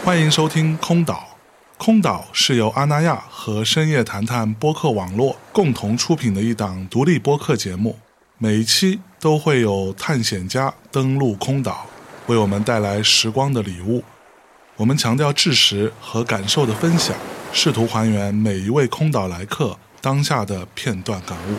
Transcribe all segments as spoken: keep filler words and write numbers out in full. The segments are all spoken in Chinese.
欢迎收听空岛。空岛是由阿那亚和深夜谈谈播客网络共同出品的一档独立播客节目，每一期都会有探险家登陆空岛，为我们带来时光的礼物。我们强调知识和感受的分享，试图还原每一位空岛来客当下的片段感悟。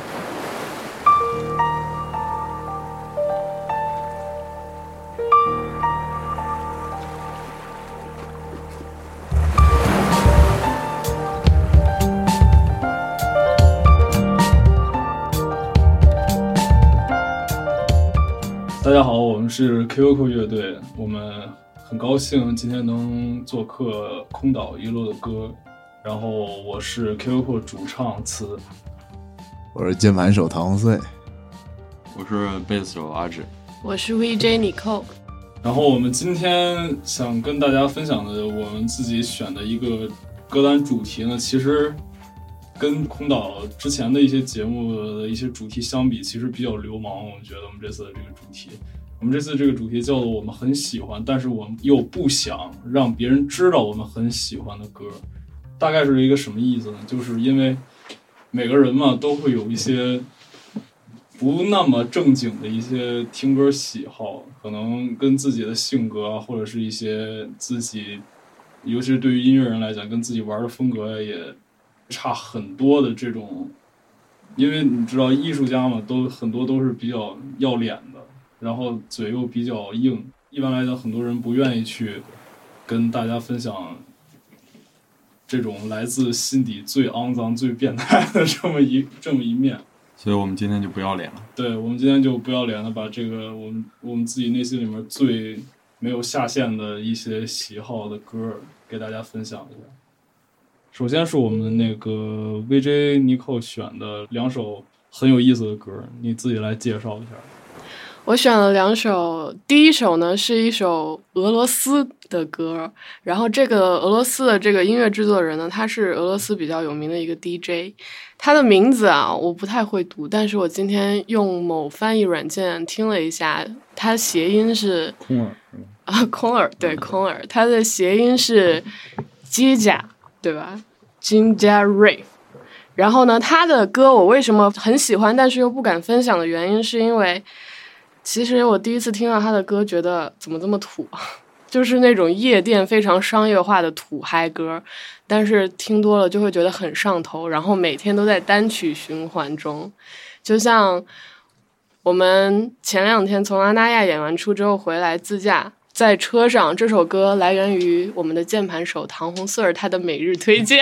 大家好，我们是 Q Q 乐队，我们很高兴今天能做客空岛一路的歌。然后我是 Q Q 主唱词， 我是键盘手唐红穗， 我是贝斯手阿志， 我是 V J Nicole。 然后我们今天想跟大家分享的我们自己选的一个歌单主题呢，其实跟空岛之前的一些节目的一些主题相比，其实比较流氓。我们觉得我们这次的这个主题，我们这次这个主题叫做我们很喜欢，但是我们又不想让别人知道我们很喜欢的歌。大概是一个什么意思呢？就是因为每个人嘛都会有一些不那么正经的一些听歌喜好，可能跟自己的性格啊，或者是一些自己，尤其是对于音乐人来讲，跟自己玩的风格也差很多的这种。因为你知道艺术家嘛，都很多都是比较要脸的，然后嘴又比较硬，一般来讲很多人不愿意去跟大家分享这种来自心底最肮脏最变态的这么一这么一面， 所以我们今天就不要脸了。 对，我们今天就不要脸的把这个我们我们自己内心里面最没有下限的一些喜好的歌给大家分享一下。首先是我们那个 V J Nicole 选的两首很有意思的歌，你自己来介绍一下。 我选了两首，第一首呢是一首俄罗斯的歌，然后这个俄罗斯的这个音乐制作人呢，他是俄罗斯比较有名的一个 D J， 他的名字啊我不太会读，但是我今天用某翻译软件听了一下，他谐音是空耳啊，空耳，对，空耳，他的谐音是 Jinja， 对吧 ？Jinja Rave。然后呢，他的歌我为什么很喜欢，但是又不敢分享的原因，是因为其实我第一次听到他的歌，觉得怎么这么土，就是那种夜店非常商业化的土嗨歌，但是听多了就会觉得很上头，然后每天都在单曲循环中。就像我们前两天从阿那亚演完出之后回来自驾，在车上，这首歌来源于我们的键盘手唐红穗他的每日推荐。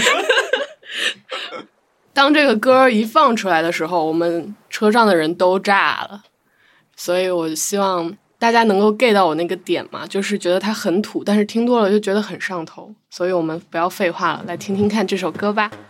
当这个歌一放出来的时候，我们车上的人都炸了，所以我希望大家能够 get 到我那个点嘛，就是觉得它很土，但是听多了就觉得很上头，所以我们不要废话了，来听听看这首歌吧。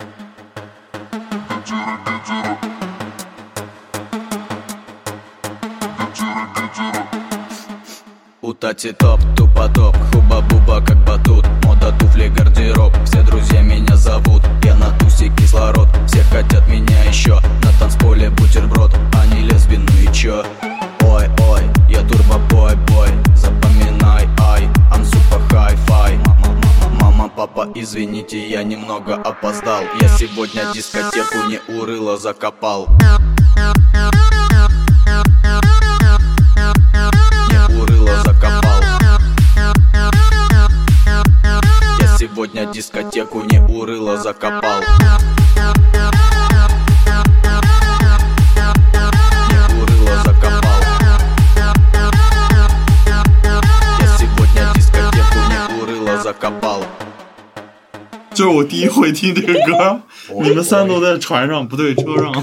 Утати топ, тупо топ, хуба-буба как батут. Мода, туфли, гардероб, все друзья меня зовут. Я на тусе кислород, все хотят меня еще. На танцполе бутерброд, они лесбий, ну и чё? Ой-ой, я турбо-бой-бой, запоминай, ай, I'm super hi-fi. Мама, папа, извините, я немного опоздал. Я сегодня дискотеку не урыло закопал. Сегодня дискотеку не урыло закопал. Не урыло закопал. Я сегодня дискотеку не урыло закопал. 这是我第一回听这个歌，你们三都在船上，不对，车上。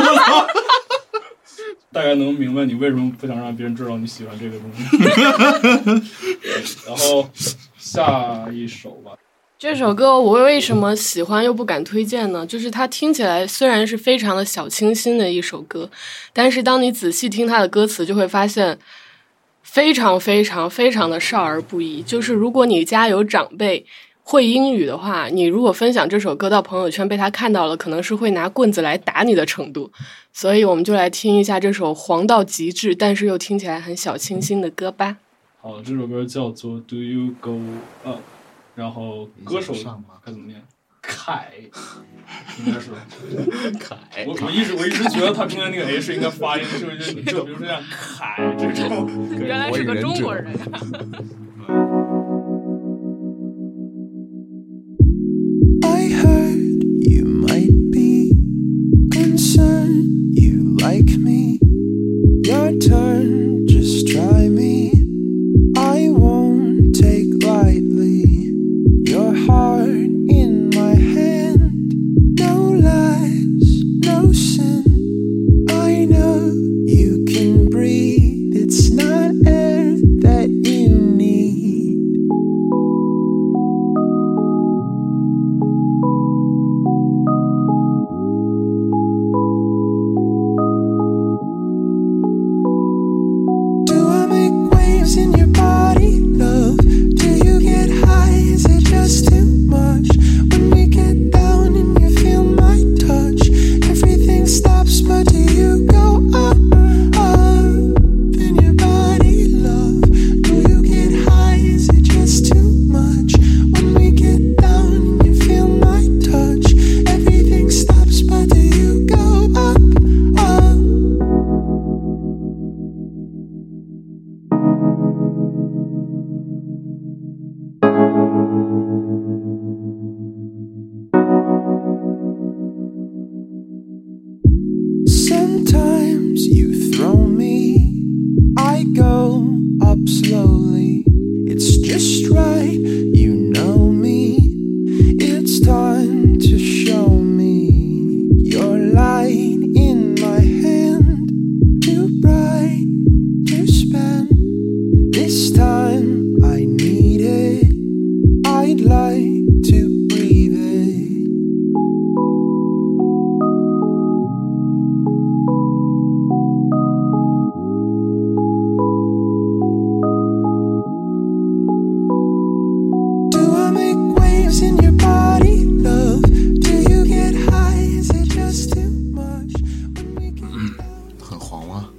大概能明白你为什么不想让别人知道你喜欢这个东西。然后下一首吧。 这首歌我为什么喜欢又不敢推荐呢？就是它听起来虽然是非常的小清新的一首歌，但是当你仔细听它的歌词，就会发现非常非常非常的少儿不宜。就是如果你家有长辈会英语的话，你如果分享这首歌到朋友圈被他看到了，可能是会拿棍子来打你的程度。所以我们就来听一下这首黄到极致但是又听起来很小清新的歌吧。 好，这首歌叫做 Do You Go Up， 然后歌手该怎么念？凯，应该是凯。我我一直我一直觉得他中间那个 H 应该发音是不是就比如说像凯这种？ 原来是个中国人。 I heard you might be concerned you like me. Your turn, just try me. I won't take lightly your heart in my hand. No lies, no sin. I know you can breathe. It's not air that you need. Do I make waves in your body, love? Do you get high? Is it just too much? When we get down and you feel my touch, everything stops, but do you go up, up in your body, love? Do you get high? Is it just too much? When we get down and you feel my touch, everything stops, but do you go up, up? Sometimes you throw me, I go up slowly. It's just right, you know me. It's time to show me your light in my hand. Too bright to spend. This time I need it. I'd like to breathe it. Do I make waves in your body, love? Do you get high? Is it just too much? When we get down. 很黄吗？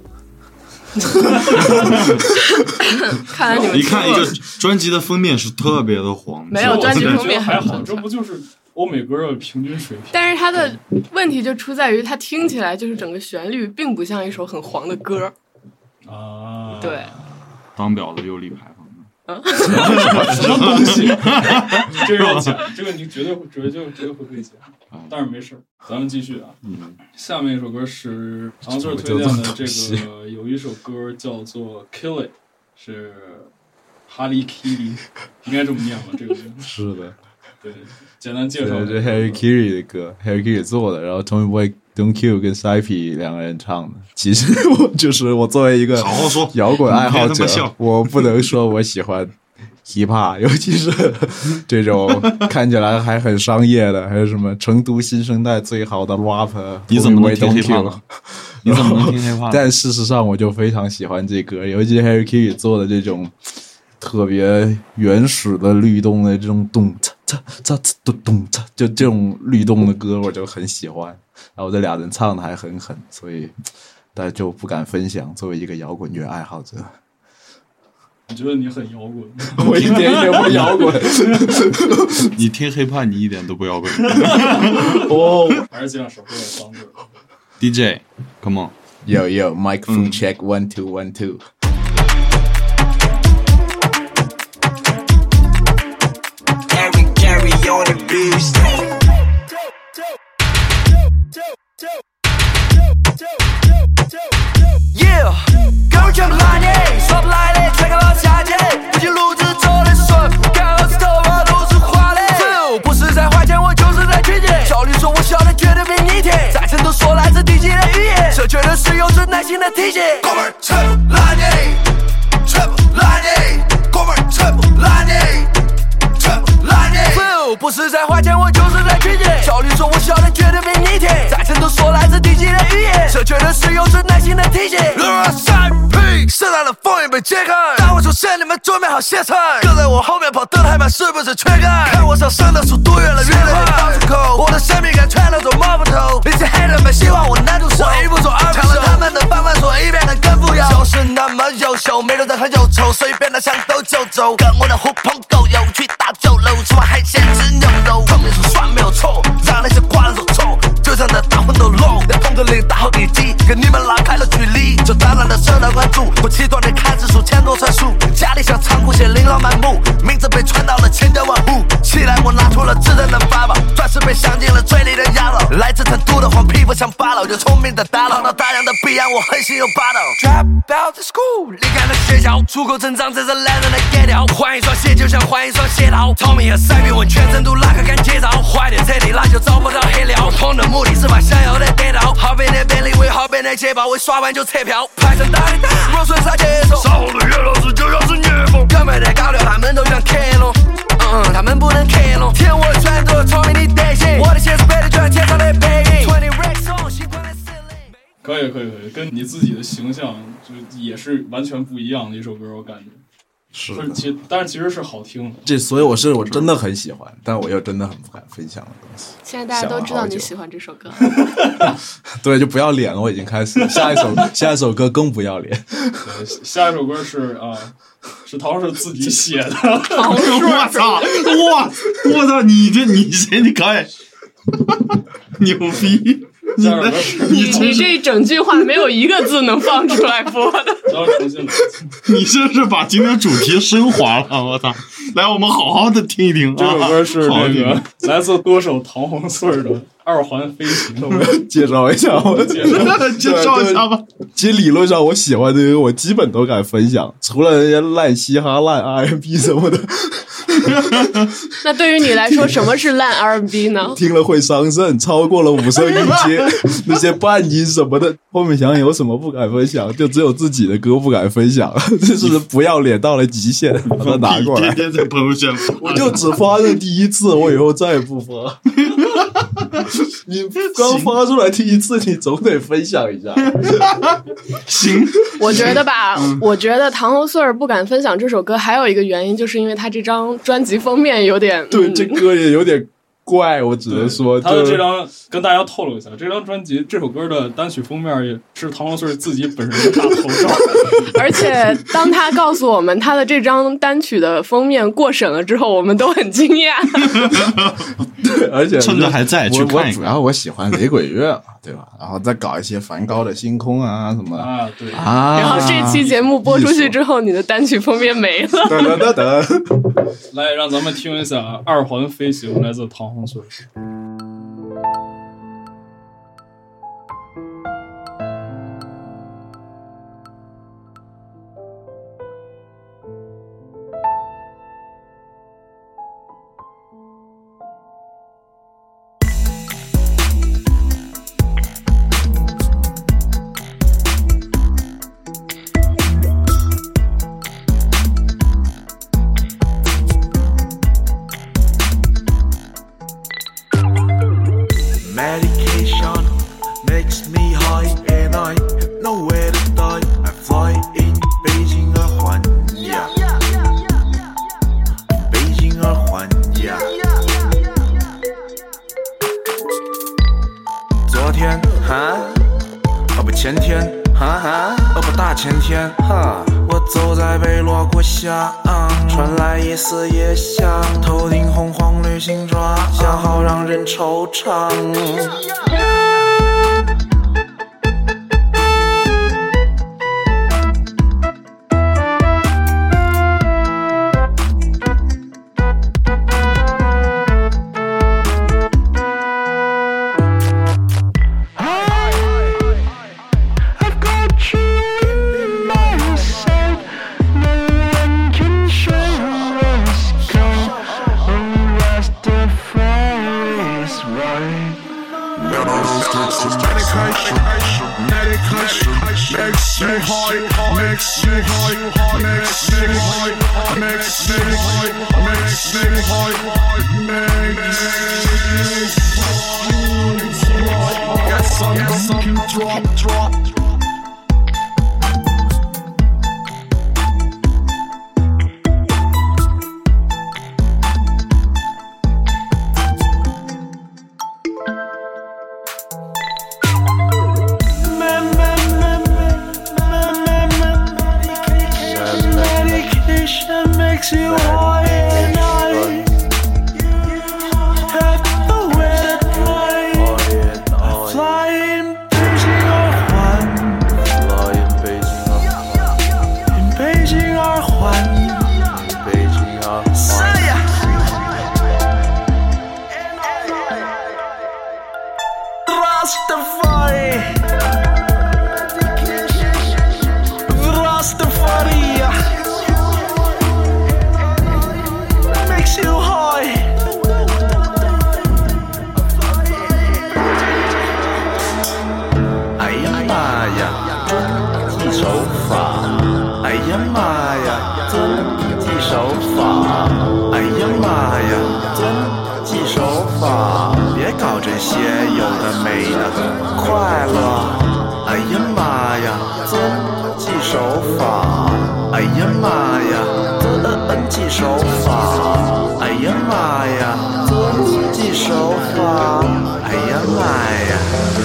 看来你们一看一个专辑的封面是特别的黄， 没有专辑封面还好，这不就是欧美歌的平均水平？ 但是它的问题就出在于，它听起来就是整个旋律并不像一首很黄的歌。 啊， 对， 当婊子又立牌坊。 什么东西？这个要讲，这个你绝对绝对绝对会被讲，但是没事，咱们继续啊。 嗯， 下面一首歌是唐 Sir 推荐的，这个有一首歌叫做《Kill It》，是哈利 Kitty， 应该这么念吧？这个名字是的， 对，简单介绍。 这是 Harry Carey 的歌 ，Harry Carey 做的，然后 Tommy Boy Don't Kill 跟 Saipy 两个人唱的。其实我就是我作为一个好好说摇滚爱好者别他妈笑， 我不能说我喜欢 hiphop， 尤其是这种看起来还很商业的，还有什么成都新生代最好的 rapper， 你怎么能听 Don't hiphop Kill 呢？你怎么能听 hiphop？ 但事实上，我就非常喜欢这歌，尤其是 Harry Carey 做的这种特别原始的律动的这种咚嚓嚓嚓嚓咚咚嚓，就这种律动的歌，我就很喜欢。然后这俩人唱的还很狠，所以但就不敢分享。作为一个摇滚乐爱好者， 我觉得你很摇滚， 我一点也不摇滚。 你听 hiphop 你一点都不摇滚。 哦， 还是尽量少说点脏字。 D J，come on。 Yo yo, microphone check one two one two. Harry Carey on the beast. Yeah， 哥们全部来你，说不来的全靠夏天，不仅路子走的顺，看好子头发都是花的。不是在花钱，我就是在取钱。小绿说我笑的绝对比你甜，在成都说来自地级的语言，这绝对是有着耐心的体现。哥们儿全部来你，全部来你，哥们儿全部来你，全部来你。不是在花钱，我就是在取钱。小绿说我笑的绝对比你甜，在成都说来自地级的语言，这绝对是有着耐心的体现。三 P 盛大的封印被揭开，当我出现，你们准备好歇菜。跟在我后面跑得太慢，是不是缺钙？看我上升的速度越来越快，到处口，我的神秘感全都做摸不透。那些黑人们希望我难住手，我一步做二步，抢了他们的饭碗，所以变得更富有。就是那么优秀。 头，没人在喝忧愁，所以变得像斗九州。跟我的狐朋狗友去大酒楼，吃完海鲜吃牛肉，方面说酸没有错，让那些瓜人所臭。就这样的大混都漏，在风格里大好一击，跟你们拉开了距离，就当然的受到关注。我七段的看指数，千多串数，家里像仓库写琳琅满目，名字被传到了千家万户。起来我拿出了智能的法宝，钻石被镶进了嘴里的牙佬，来自成都的黄皮肤像法老，有聪明的大佬，到大量的彼岸我横行又霸道。Drop out the school， 离开了学校，出口成章，这是男人的格调。换一双鞋就像换一双鞋套，糙米和塞比问全成都哪个敢接招，坏点彻底那就找不到黑料。沟通的目的是把想要的得到，好变的便利为好变的捷报，为刷完就撤票，排成大的大，若顺啥节奏，稍后的岳老师就要是虐风，根本的高调他们都想克隆，嗯，他们不能克隆，舔我的拳头，聪明的德行，我的鞋是背的就像天上的背影。twenty racks on， 习惯的司令。 可以可以可以，跟你自己的形象就也是完全不一样的一首歌，我感觉。 是的，其但是其实是好听的。 这所以我是我真的很喜欢，但我又真的很不敢分享的东西。 现在大家都知道你喜欢这首歌。 对，就不要脸了，我已经开始了。下一首下一首歌更不要脸。 对，下一首歌是啊，是陶是自己写的。 我操！我我操！你这你这你可以牛逼！你的你你这一整句话没有一个字能放出来播的。 你这是把今天主题升华了，我操！来，我们好好的听一听。 这首歌是那个来自歌手唐红穗的《二环飞行》。 介绍一下，我介绍介绍一下吧。 其实理论上我喜欢的歌，我基本都敢分享，除了人家烂嘻哈、烂 R and B 什么的。 那对于你来说，什么是烂 R and B 呢？ 听了会伤肾，超过了五声音阶，那些半音什么的，后面想有什么不敢分享，就只有自己的歌不敢分享，这是不要脸到了极限，把它拿过来。 天天在朋友圈发， 我就只发这第一次，我以后再也不发。你刚发出来第一次，你总得分享一下。 行， 我觉得吧， 嗯、 我觉得唐红穗儿不敢分享这首歌，还有一个原因，就是因为他这张专辑封面有点， 对， 嗯、 这歌也有点怪，我只能说， 他的这张跟大家透露一下，这张专辑这首歌的单曲封面也是唐红穗自己本人的大头照。 而且当他告诉我们他的这张单曲的封面过审了之后，我们都很惊讶。 对，而且趁着还在去看一看。 主要我喜欢雷鬼乐嘛，对吧？然后再搞一些梵高的星空啊什么的啊，对啊。 然后这期节目播出去之后，你的单曲封面没了。 等等等等， 来让咱们听一下《二环飞行》，来自唐红穗。 Medication makes me high and I have nowhere to die. I fly in Beijing 二环呀，北京二环呀。昨天哈，哦不前天哈哈，哦不大前天哈，我走在北锣鼓巷，传来一丝夜香，头顶红黄旅行装，想好让人惆怅。 妈呀，遵纪守法！哎呀妈呀，遵纪守法！哎呀妈呀，遵纪守法！别搞这些有的没的，快乐！哎呀妈呀，遵纪守法！哎呀妈呀，遵纪守法！哎呀妈呀，遵纪守法！哎呀妈呀！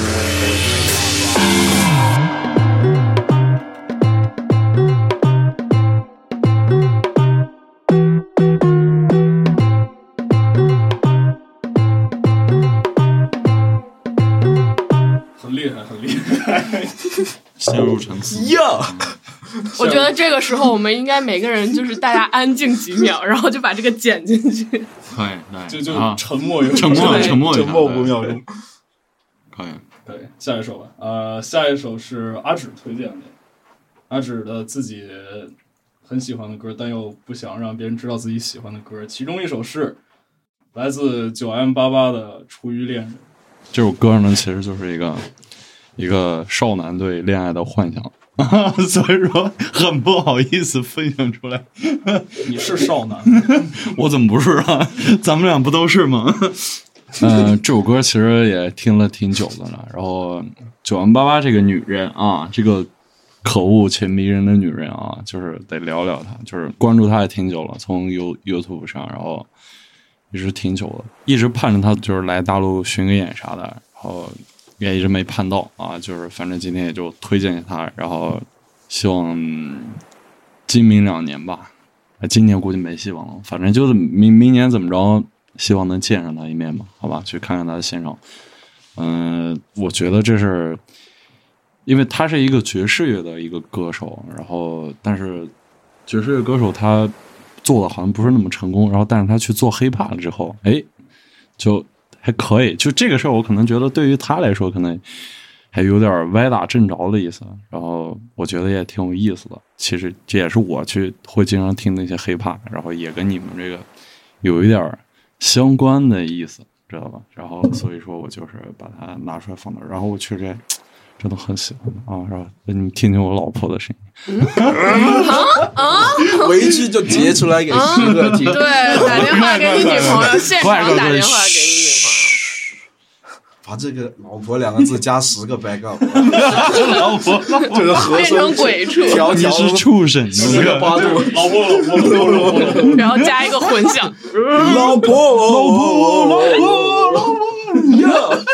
很厉害，很厉害， 陷入沉思。 呀， 我觉得这个时候我们应该每个人就是大家安静几秒，然后就把这个剪进去。 可以，对， 就就啊沉默一会儿， 沉默，沉默， 沉默五秒钟。 可以， 对，下一首吧。呃，下一首是阿芷推荐的，阿芷的自己很喜欢的歌，但又不想让别人知道自己喜欢的歌。其中一首是来自九 M 八八的《出于恋人》。 这首歌呢，其实就是一个一个少男对恋爱的幻想，所以说很不好意思分享出来。 你是少男， 我怎么不是啊？咱们俩不都是吗？嗯、呃，这首歌其实也听了挺久的了。然后九 M 八八这个女人啊，这个可恶且迷人的女人啊，就是得聊聊她，就是关注她也挺久了，从 You YouTube 上，然后一直挺久的，一直盼着她就是来大陆巡个演啥的，然后也一直没盼到啊。就是反正今天也就推荐给她，然后希望今明两年吧，今年估计没希望了，反正就是明明年怎么着。希望能见上他一面吧，好吧，去看看他的现场。嗯、呃，我觉得这是，因为他是一个爵士乐的一个歌手，然后但是爵士乐歌手他做的好像不是那么成功，然后但是他去做黑怕了之后，哎，就还可以。就这个事儿，我可能觉得对于他来说，可能还有点歪打正着的意思。然后我觉得也挺有意思的。其实这也是我去会经常听那些黑怕，然后也跟你们这个有一点相关的意思，知道吧？然后所以说我就是把它拿出来放那儿，然后我确实真的很喜欢啊，是吧？你们听听我老婆的声音， 啊， 回去就截出来给十个听。 对，打电话给你女朋友，现场打电话给你女朋友。 把这个“老婆”两个字加十个 backup， 老婆就是和变成鬼畜， 条条你是畜生， 十个八度， 老婆老婆老婆老婆老婆， 然后加一个混响， 老婆老婆老婆老婆呀！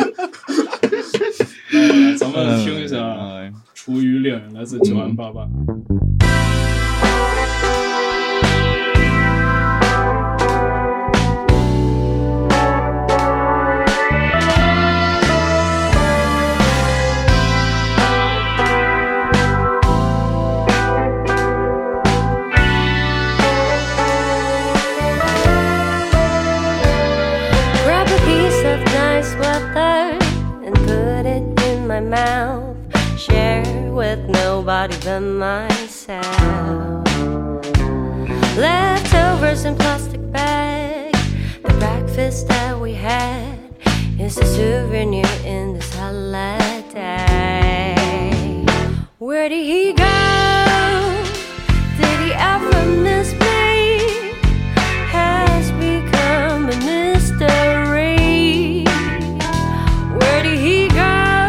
来，咱们听一下《出于恋人》，来自九 M 八八。 Mouth, share with nobody but myself. Leftovers in plastic bags. The breakfast that we had is a souvenir in this holiday. Where did he go? Did he ever miss me? Has become a mystery. Where did he go?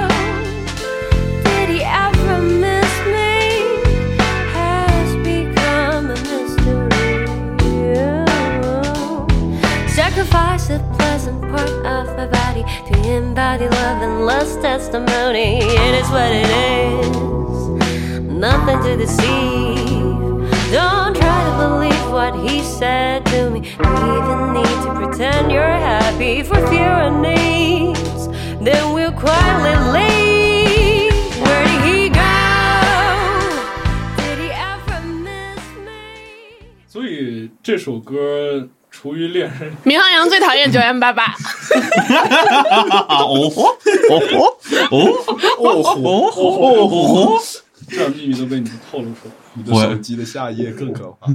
Sacrifice the pleasant part of my body to embody love and love's testimony. It is what it is, nothing to deceive. Don't try to believe what he said to me. You even need to pretend you're happy for fear of needs. Then we'll quietly leave. Where did he go? Did he ever miss me? 所以这首歌。出于恋人， 闵行阳最讨厌九 M 八八。 哦吼哦吼哦哦吼哦吼， 这点秘密都被你们透露出来。 你的手机的下一页更可怕。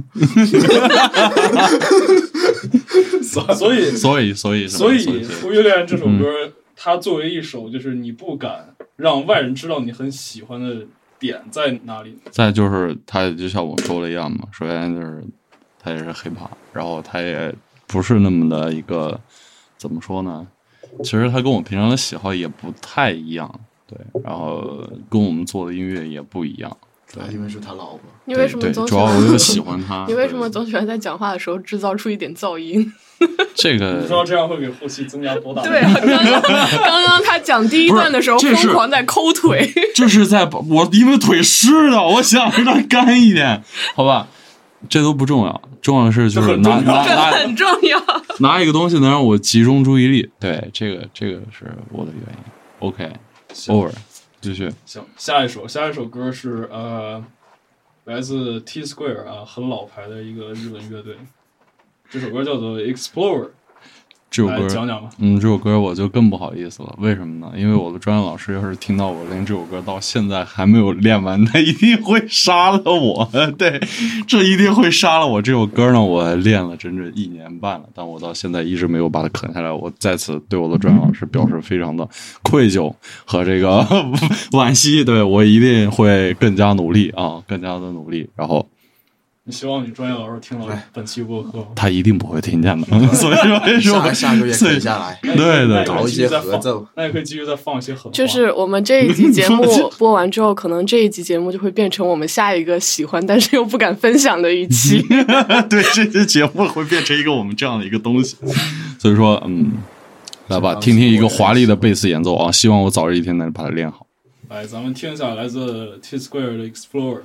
所以， 所以，所以， 所以，《出于恋人》这首歌它作为一首就是你不敢让外人知道你很喜欢的点在哪里？ 再就是它就像我说的一样嘛，首先就是它也是hiphop，然后它也不是那么的一个怎么说呢？其实它跟我平常的喜好也不太一样，对，然后跟我们做的音乐也不一样。对， 因为是他老婆。 你为什么总主要我就喜欢他？ 你为什么总喜欢在讲话的时候制造出一点噪音？ 这个你知道这样会给后期增加多大？ 对啊，刚刚刚刚他讲第一段的时候疯狂在抠腿， 这是在我因为腿湿的，我想让它干一点，好吧？这都不重要，重要的是就是拿拿拿很重要， 拿一个东西能让我集中注意力。对，这个这个是我的原因。OK，over，、okay, 继续。 行，下一首下一首歌是呃，来自 T Square 啊，很老牌的一个日本乐队。这首歌叫做 Explorer。 这首歌讲讲吧。 嗯，这首歌我就更不好意思了，为什么呢？因为我的专业老师要是听到我练这首歌到现在还没有练完，他一定会杀了我。对，这一定会杀了我。这首歌呢，我练了整整一年半了，但我到现在一直没有把它啃下来。我再次对我的专业老师表示非常的愧疚和这个惋惜。对，我一定会更加努力啊，更加的努力。然后。 你希望你专业老师听到本期播客， 他一定不会听见的。所以说， 下下个月啃下来， 对对， 搞一些合奏， 那也可以继续再放一些狠话。 就是我们这一集节目播完之后，可能这一集节目就会变成我们下一个喜欢但是又不敢分享的一期。 对，这期节目会变成一个我们这样的一个东西。所以说，嗯，来吧，听听一个华丽的贝斯演奏啊！希望我早日一天能把它练好。 来，咱们听一下来自 T Square 的 Explorer。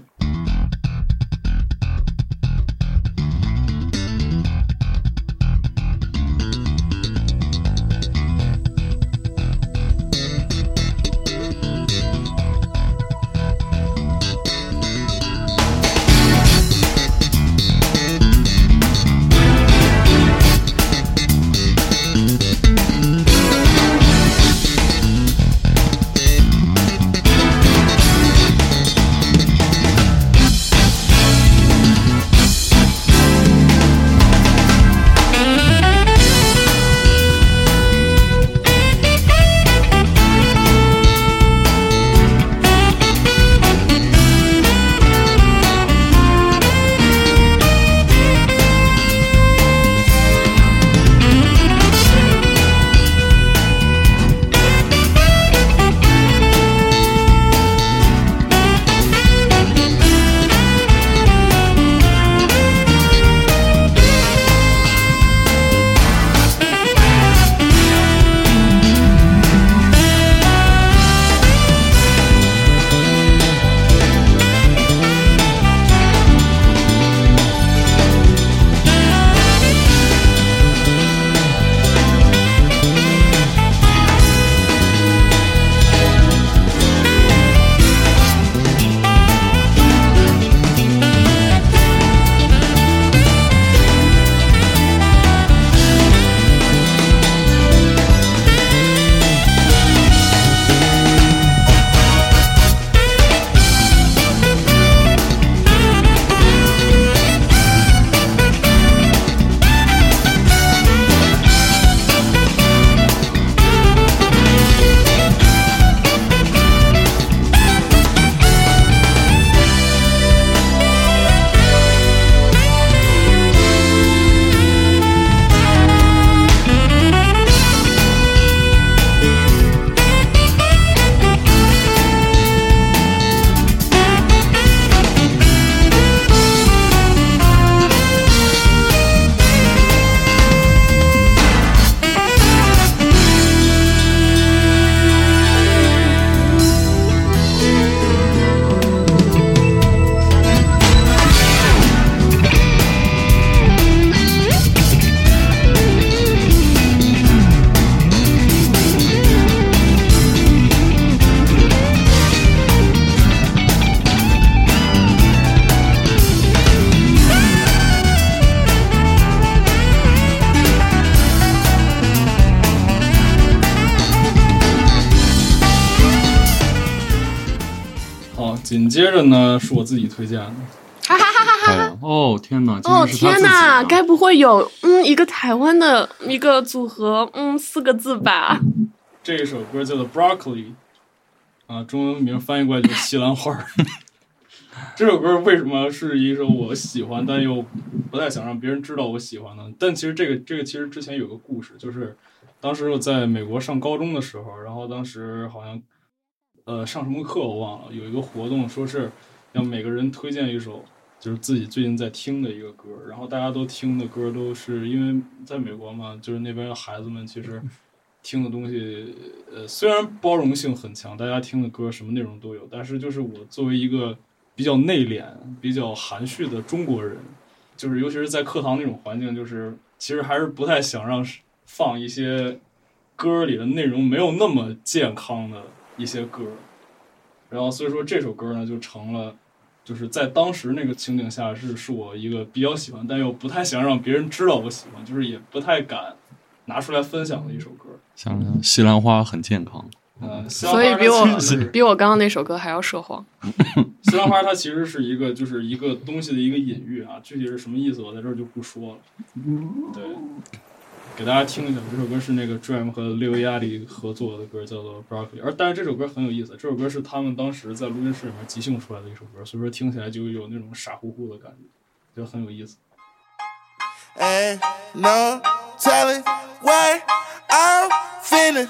紧接着呢是我自己推荐的， 哈哈哈哈哈！ 哦天哪！ 哦天哪！该不会有嗯一个台湾的一个组合嗯四个字吧？ 这一首歌叫做 Broccoli 啊，中文名翻译过来就是西兰花。这首歌为什么是一首我喜欢但又不太想让别人知道我喜欢呢？但其实这个这个其实之前有个故事，就是当时我在美国上高中的时候，然后当时好像呃上什么课我忘了，有一个活动说是要每个人推荐一首就是自己最近在听的一个歌，然后大家都听的歌都是因为在美国嘛，就是那边的孩子们其实听的东西呃虽然包容性很强，大家听的歌什么内容都有，但是就是我作为一个比较内敛比较含蓄的中国人，就是尤其是在课堂那种环境，就是其实还是不太想让放一些歌里的内容没有那么健康的一些歌，然后所以说这首歌呢就成了就是在当时那个情景下是是我一个比较喜欢但又不太想让别人知道我喜欢，就是也不太敢拿出来分享的一首歌。 像西兰花很健康， 嗯， 所以比我比我刚刚那首歌还要涉黄。 西兰花它其实是一个就是一个东西的一个隐喻啊，具体是什么意思我在这儿就不说了。对，给大家听一下，这首歌是那个 Dream 和 Lil Yachty 合作的歌，叫做 Broccoli。而但是这首歌很有意思，这首歌是他们当时在录音室里面即兴出来的一首歌，所以说听起来就有那种傻乎乎的感觉，就很有意思。 Ain't no telling what I'm finna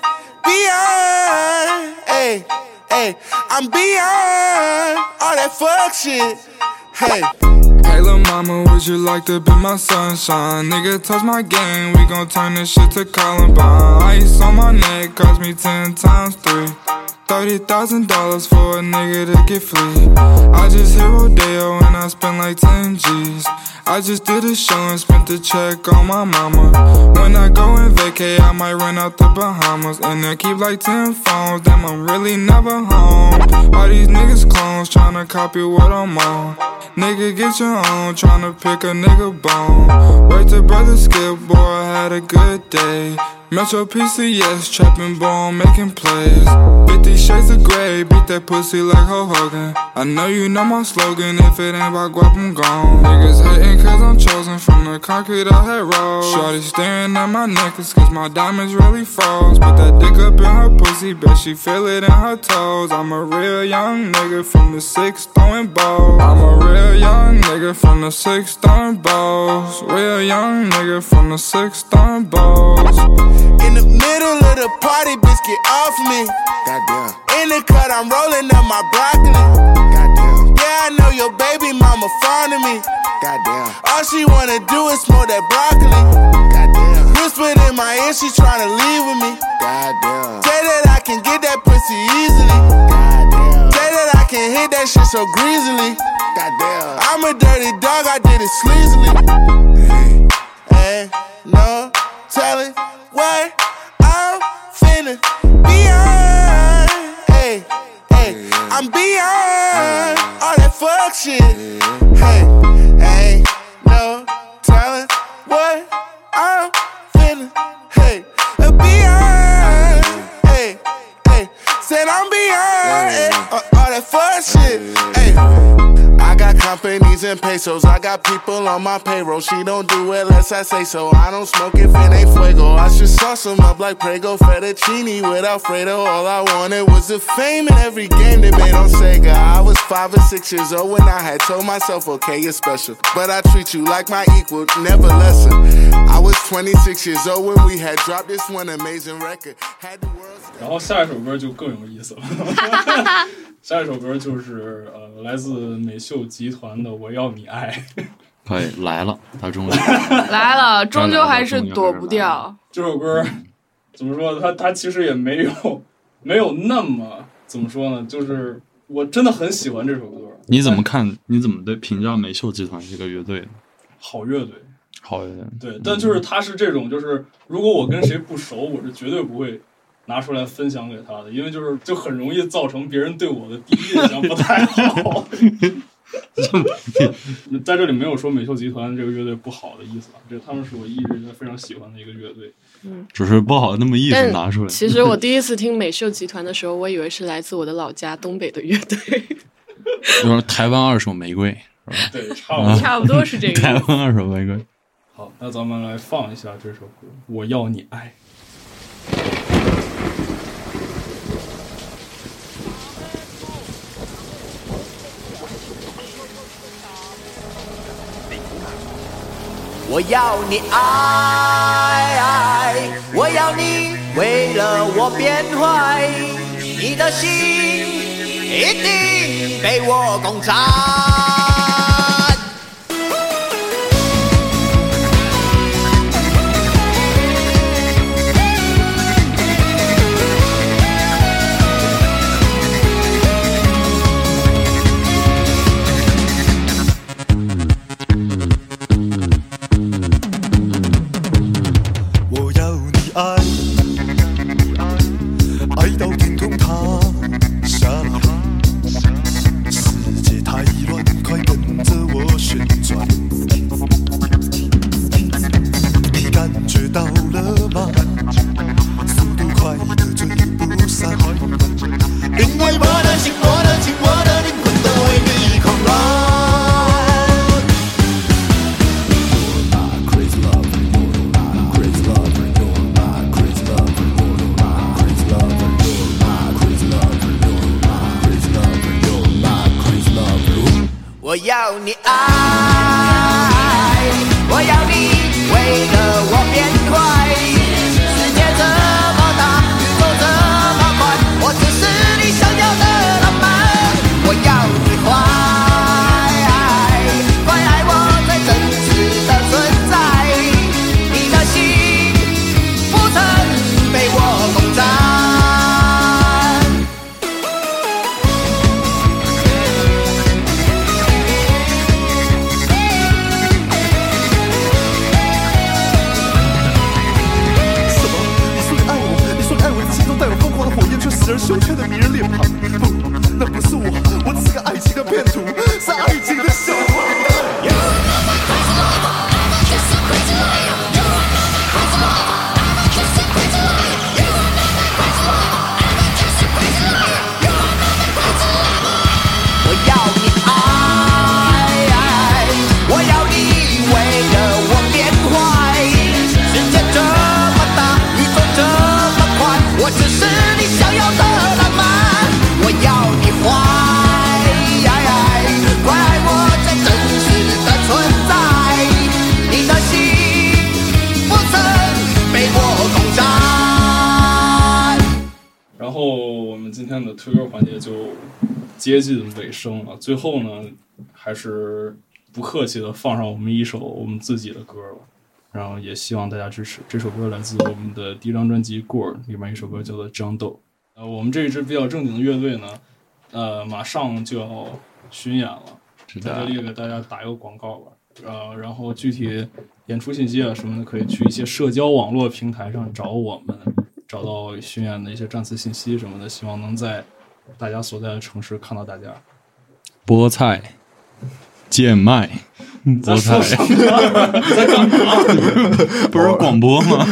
beyond. Hey, hey, I'm beyond all that fuck shit. Hey. Hey lil' mama, would you like to be my sunshine? Nigga, touch my game, we gon' turn this shit to Columbine. Ice on my neck, cost me ten times three. Thirty thousand dollars for a nigga to get free. I just hit Rodeo and I spent like ten G's. I just did a show and spent the check on my mama. When I go and vacay, I might run out the Bahamas. And they'll keep like ten phones, damn I'm really never home. All these niggas clones tryna copy what I'm on. Nigga get your own, tryna pick a nigga bone. Wait till brother Skip, boy I had a good day. Metro P C S, trapping boy, making plays. Fifty shades of grey, beat that pussy like Hulk Hogan. I know you know my slogan, if it ain't about guap, I'm gone. Niggas hating cause I'm chosen from the concrete I had rolled. Shorty staring at my necklace cause my diamonds really froze. Put that dick up in her pussy, bet she feel it in her toes. I'm a real young nigga from the six throwing balls. I'm a real young nigga from the six throwing balls. Real young nigga from the six throwing balls. In the middle of the party, bitch, get off me. Goddamn. In the cut, I'm rolling up my broccoli. Goddamn. Yeah, I know your baby mama fond of me. Goddamn. All she wanna do is smoke that broccoli. Goddamn. Whispered in my ear, she tryna leave with me. Goddamn. Say that I can get that pussy easily. Goddamn. Say that I can hit that shit so greasily. Goddamn. I'm a dirty dog, I did it sleazily. Hey, hey, no telling what I'm finna beyond. Hey, hey, I'm beyond all that fuck shit. Hey, ain't no telling what I'm finna. Hey, beyond. Hey, hey, said I'm beyond hey, all that fuck shit. Hey. I got companies and pesos, I got people on my payroll. She don't do it unless I say so. I don't smoke if it ain't fuego. I should sauce them up like Prego fettuccine with Alfredo. All I wanted was the fame in every game they made on Sega. I was five or six years old when I had told myself, okay, you're special, but I treat you like my equal, never lesser. I was twenty-six years old when we had dropped this one amazing record. Had the world. 然后下一首歌就更有意思了。下一首歌就是呃来自美秀集团的《我要你爱》。 可以来了，他终于来了，终究还是躲不掉。 这首歌怎么说？它它其实也没有没有那么怎么说呢？就是我真的很喜欢这首歌。 你怎么看？你怎么对评价美秀集团这个乐队的？ 好乐队， 好乐队。 对，但就是它是这种，就是如果我跟谁不熟，我是绝对不会拿出来分享给他的，因为就是就很容易造成别人对我的第一印象不太好。在这里没有说美秀集团这个乐队不好的意思啊，这他们是我一直非常喜欢的一个乐队。 嗯， 只是不好那么意思拿出来。 其实我第一次听美秀集团的时候，我以为是来自我的老家东北的乐队。 就是台湾二手玫瑰，是吧？ 对，差不多， 差不多是这个。 台湾二手玫瑰。 好，那咱们来放一下这首歌《我要你爱》。 我要你爱，我要你为了我变坏，你的心一定被我攻占。我要你爱，我要你为了我变坏。世界这么大，宇宙这么宽，我只是你想要的浪漫。我要你坏，快爱我最真实的存在。你的心不曾被我攻占。 使人羞怯的迷人脸庞，不，那不是我，我只是个爱情的骗徒，是爱情的笑话。 我要你爱，我要你为了我变坏。世界这么大，宇宙这么宽，我只是你想要的浪漫。我要你坏，快爱我最真实的存在。你的心不曾被我攻占。 然后我们今天的推歌环节就接近尾声了，最后呢，还是不客气的放上我们一首我们自己的歌了，然后也希望大家支持。这首歌来自我们的第一张专辑《Gore》里面一首歌叫做《张豆》。呃，我们这一支比较正经的乐队呢，呃，马上就要巡演了，在这里给大家打一个广告吧。呃，然后具体演出信息啊什么的，可以去一些社交网络平台上找我们，找到巡演的一些站次信息什么的，希望能在大家所在的城市看到大家。 菠菜、贱卖、菠菜， 你在干嘛？ 不是广播吗？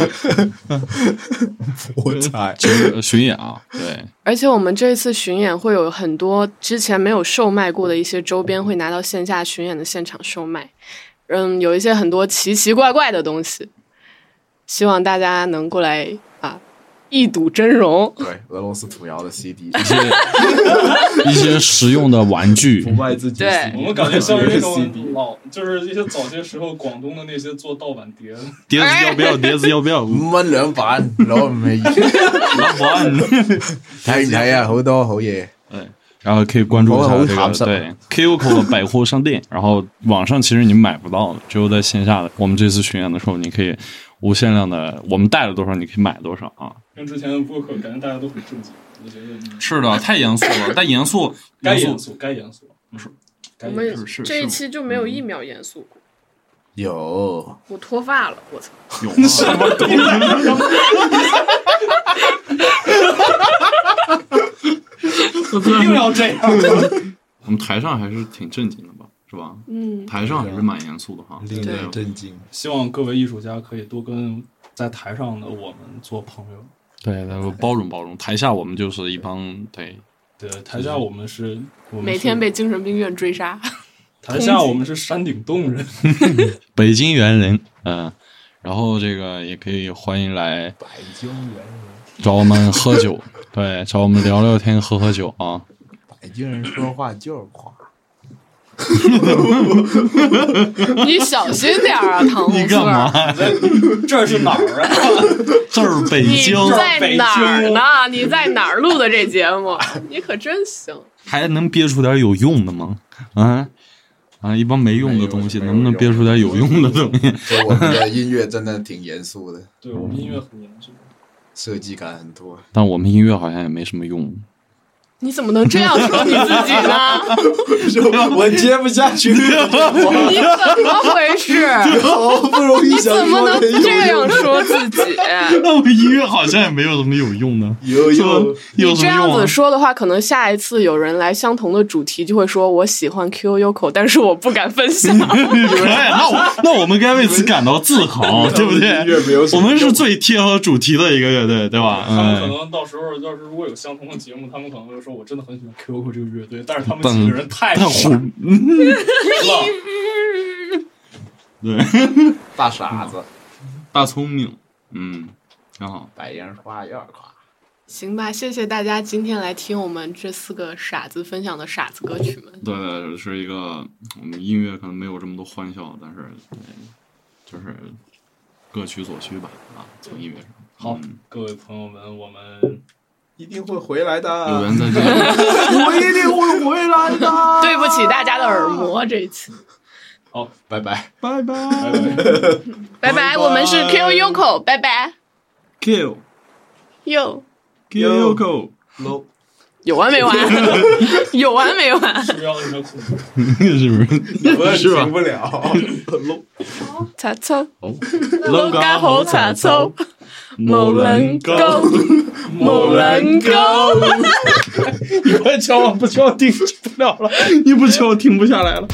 菠菜就是巡演啊，对。 而且我们这次巡演会有很多之前没有售卖过的一些周边，会拿到线下巡演的现场售卖。嗯，有一些很多奇奇怪怪的东西，希望大家能过来啊，一睹真容。 对，俄罗斯土窑的 C D， 一些一些实用的玩具， 不卖自己。 对， 我们感觉像是那种老，就是一些早些时候广东的那些做盗版碟。 碟子要不要？碟子要不要？ 五蚊兩版攞唔起， 兩版睇唔睇啊？好多好嘢。 对。然后可以关注一下这个对 Q Q 的百货商店，然后网上其实你买不到的，只有在线下的。我们这次巡演的时候，你可以无限量的，我们带了多少你可以买多少啊。 跟之前的播客感觉大家都很正经，我觉得是的，太严肃了，但严肃该严肃该严肃， 是。 我们这一期就没有一秒严肃过。 有， 我脱发了，我操！ 有什么东西？ 一定要这样。 我们台上还是挺正经的吧，是吧？ 嗯， 台上还是蛮严肃的哈， 令人震惊。 希望各位艺术家可以多跟在台上的我们做朋友。 对，包容包容。台下我们就是一帮对对，台下我们是，我们每天被精神病院追杀。 台下我们是山顶洞人， 北京猿人，嗯、呃，然后这个也可以欢迎来北京猿人找我们喝酒，对，找我们聊聊天，喝喝酒啊。 北京人说话就是夸。 你小心点啊，唐红你干嘛？ 这是哪儿啊？ 这是北京。 你在哪儿呢？你在哪儿录的这节目？你可真行。 还能憋出点有用的吗？啊啊！一帮没用的东西，能不能憋出点有用的东西？ 就我们的音乐真的挺严肃的， 对我们音乐很严肃， 设计感很多。 但我们音乐好像也没什么用。 你怎么能这样说你自己呢？ 我接不下去。 你怎么回事？ 好不容易你怎么能这样说自己？ 那我音乐好像也没有什么有用的。 有用， 你这样子说的话，可能下一次有人来相同的主题，就会说我喜欢 Q Q Yoko， 但是我不敢分享。 那我那我们该为此感到自豪，对不对？我们是最贴合主题的一个乐队，对吧？ 他们可能到时候要是如果有相同的节目，他们可能会说。我真的很喜欢 Q Q 这个乐队，但是他们几个人太傻了， 对， 大傻子， 大聪明，嗯，挺好， 白莲花有点夸。 行吧，谢谢大家今天来听我们这四个傻子分享的傻子歌曲们。 对对，是一个我们音乐可能没有这么多欢笑，但是就是各取所需吧，啊，从音乐上。 好， 嗯、 各位朋友们，我们。 一定会回来的， 有缘再见。 我一定会回来的。 对不起大家的耳膜，这一次。 好， 拜拜， 拜拜， 拜拜，我们是 Q Yoko， 拜拜。 Q Yo Q Yoko Low， 有完没完？有完没完？ 是不是要那个苦？ 是不是？是吧？ 停不了。Low， 擦抽， 老家好擦抽。 冇人高， 冇人高。 你快敲我，不敲我听不了了，你不敲我停不下来了。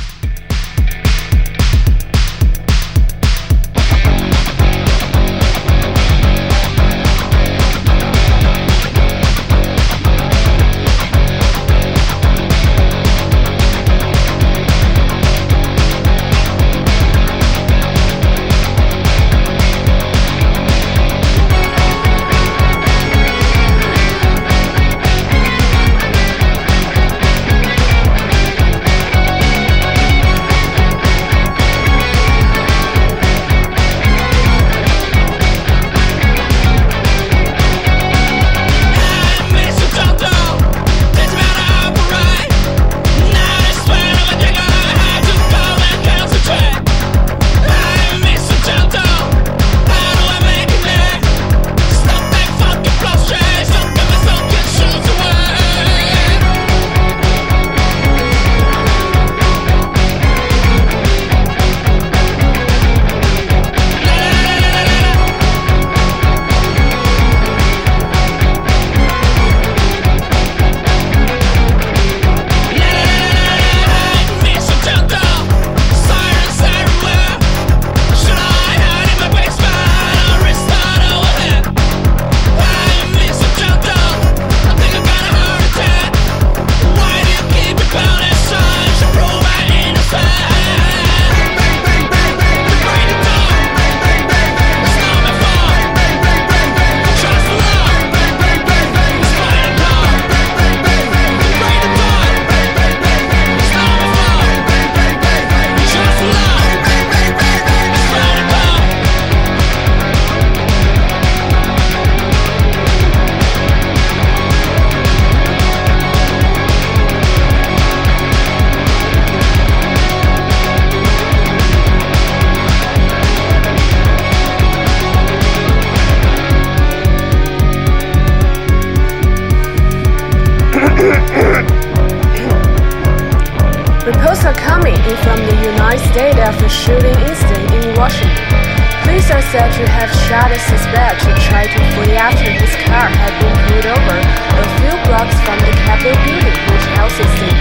After shooting incident in Washington, police are said to have shot a suspect to try to flee after his car had been pulled over a few blocks from the Capitol building, which houses the